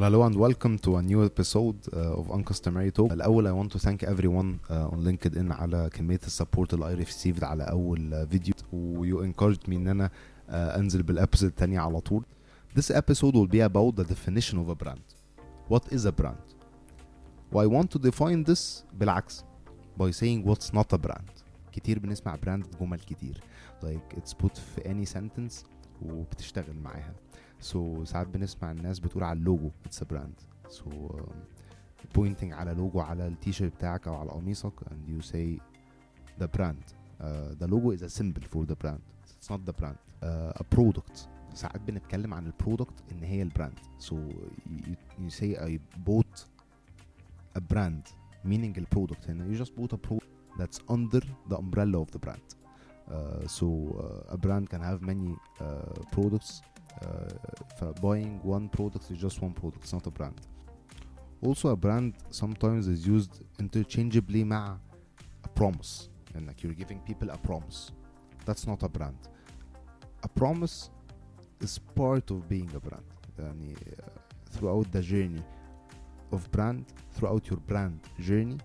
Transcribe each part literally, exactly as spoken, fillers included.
Well, hello and welcome to a new episode uh, of Uncustomary Talk. الأول I want to thank everyone uh, on LinkedIn على كمية السبورت اللي I received على أول فيديو و you encouraged me إن أنا uh, أنزل بالأبيسود التانية على طول. This episode will be about the definition of a brand. What is a brand? Well, I want to define this بالعكس by saying what's not a brand. كتير بنسمع brand جمل كتير like it's put في any sentence وبتشتغل معاها. So ساعات بنسمع الناس بتقول على اللوجو it's a brand. So um, pointing على لوجو على التيشيرت بتاعك أو على قميصك and you say the brand. Uh, the logo is a symbol for the brand. It's not the brand. Uh, a product. ساعات بنتكلم عن البرودكت إن هي البراند. So you, you say I bought a brand meaning the product and you just bought a product that's under the umbrella of the brand. Uh, so uh, a brand can have many uh, products. Uh, buying one product is just one product, it's not a brand. Also a brand sometimes is used interchangeably مع a promise and like you're giving people a promise. That's not a brand. A promise is part of being a brand. يعني, uh, throughout the journey of brand, throughout your brand journey,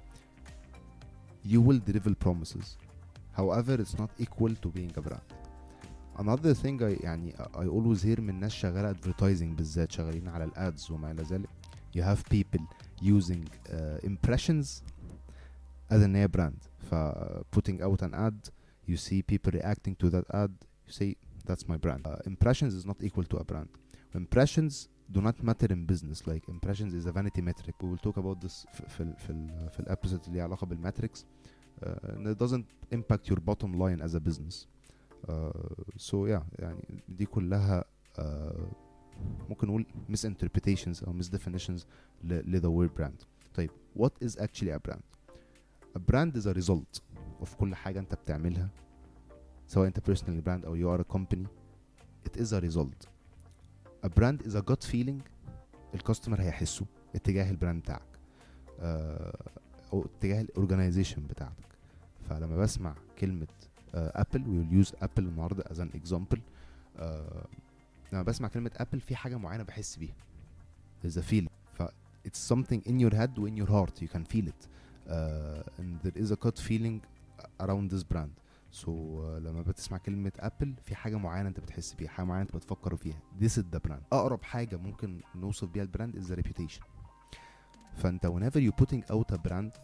you will deliver promises. However, it's not equal to being a brand. Another thing I يعني I always hear من ناس شغالة advertising بالذات شغالين على الads وما إلى ذلك. You have people using uh, impressions as a brand. ف putting out an ad, you see people reacting to that ad, you say that's my brand. Uh, impressions is not equal to a brand. Impressions do not matter in business. Like impressions is a vanity metric. We will talk about this في ال في ال في الابيسود اللي علاقة بالmetrics. Uh, and it doesn't impact your bottom line as a business. Uh, so yeah يعني دي كلها uh, ممكن نقول misinterpretations أو misdefinitions ل the word brand. طيب what is actually a brand? A brand is a result of كل حاجة أنت بتعملها سواء أنت personal brand أو you are a company. It is a result. A brand is a gut feeling الكاستمر هيحسه اتجاه البراند بتاعك uh, أو اتجاه الأورجانيزيشن بتاعتك. فلما بسمع كلمة ابل uh, we will use ابل النهارده as an example. uh, لما بسمع كلمة ابل في حاجة معينة بحس بيها. there's a feeling. ف it's something in your head و in your heart you can feel it uh, and there is a gut feeling around this brand. so uh, لما بتسمع كلمة ابل في حاجة معينة انت بتحس بيها, حاجة معينة انت بتفكر فيها. this is the brand. اقرب حاجة ممكن نوصف بيها البراند is the reputation. فانت whenever you putting out a brand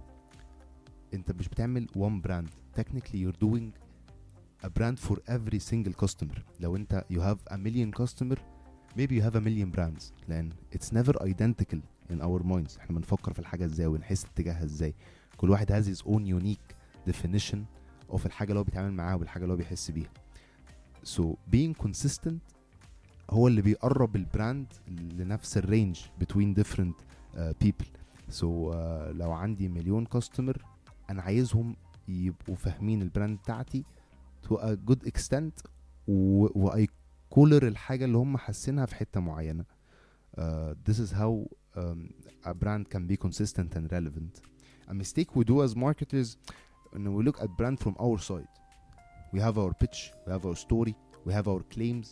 انت مش بتعمل one brand. Technically you're doing a brand for every single customer. لو انت you have a million customer maybe you have a million brands لان it's never identical in our minds. احنا بنفكر في الحاجة ازاي ونحس اتجاهها ازاي. كل واحد has his own unique definition of الحاجة اللي هو بيتعامل معاها والحاجة اللي هو بيحس بيها. so being consistent هو اللي بيقرب البراند لنفس الرينج between different uh, people. so uh, لو عندي مليون customer انا عايزهم يبقوا فاهمين البراند بتاعتي to a good extent و I color الحاجة اللي هم حاسينها في حتة معينة. uh, this is how um, a brand can be consistent and relevant. A mistake we do as marketers when we look at brand from our side. We have our pitch, we have our story, we have our claims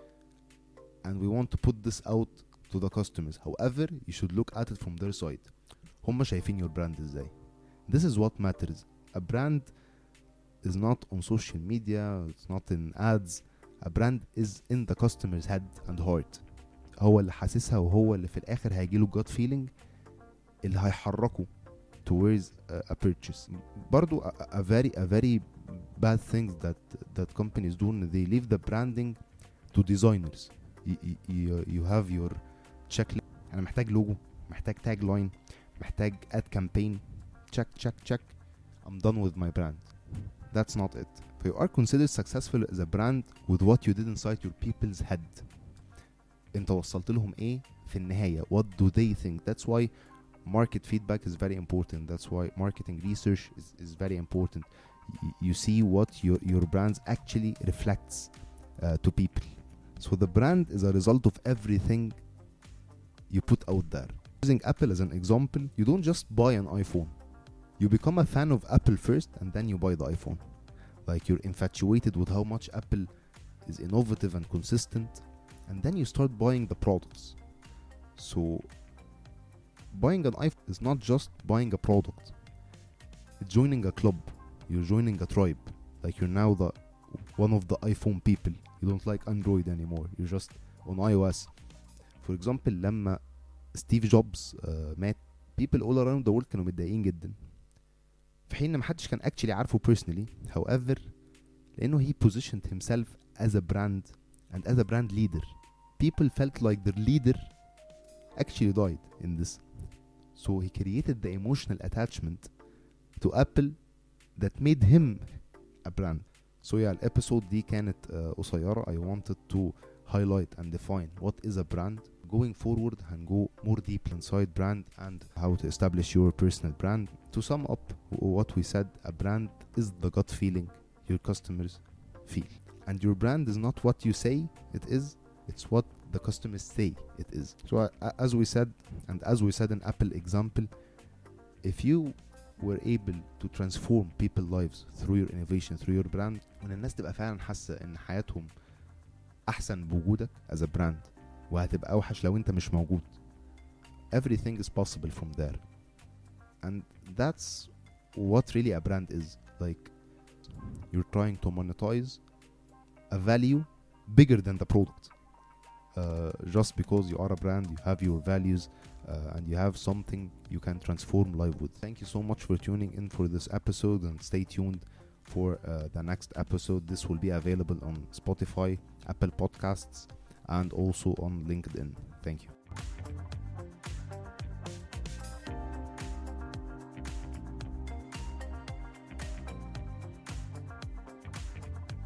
and we want to put this out to the customers. However, you should look at it from their side. هم شايفين your brand ازاي. This is what matters. A brand is not on social media, it's not in ads. A brand is in the customer's head and heart. هو اللي حاسسها وهو اللي في الآخر هيجيله gut feeling اللي هيحركه towards a, a purchase. برضو a, a very a very bad thing that that companies do, they leave the branding to designers. You, you, you have your checklist. أنا محتاج لوجو, محتاج tag line, محتاج ad campaign. check check check I'm done with my brand. That's not it. You are considered successful as a brand with what you did inside your people's head. انت وصلت لهم ايه في النهاية. What do they think? That's why market feedback is very important. That's why marketing research is, is very important. Y- you see what your, your brands actually reflects uh, to people. So the brand is a result of everything you put out there. Using Apple as an example, you don't just buy an iPhone. You become a fan of Apple first and then you buy the iPhone. Like you're infatuated with how much Apple is innovative and consistent and then you start buying the products. So buying an iPhone is not just buying a product. It's joining a club. You're joining a tribe. Like you're now the one of the iPhone people. You don't like Android anymore. You're just on iOS. For example, لما ستيف جوبز uh, مات, people all around the world كانوا متضايقين جدا, في حين ما حدش كان actually عارفه personally. However, لأنه he positioned himself as a brand and as a brand leader, people felt like their leader actually died in this. So he created the emotional attachment to Apple that made him a brand. So yeah, الابيسود دي كانت uh, قصيرة. I wanted to highlight and define what is a brand. Going forward هنgo more deep inside brand and how to establish your personal brand. To sum up what we said, a brand is the gut feeling your customers feel. And your brand is not what you say it is, it's what the customers say it is. So uh, as we said, and as we said in Apple example, if you were able to transform people's lives through your innovation, through your brand, وان الناس تبقى فعلا حاسة ان حياتهم احسن بوجودك as a brand, وهتبقى اوحش لو انت مش موجود. Everything is possible from there. And that's what really a brand is. Like you're trying to monetize a value bigger than the product. Uh, just because you are a brand, you have your values, uh, and you have something you can transform life with. Thank you so much for tuning in for this episode, and stay tuned for uh, the next episode. This will be available on Spotify, Apple Podcasts, and also on LinkedIn. Thank you.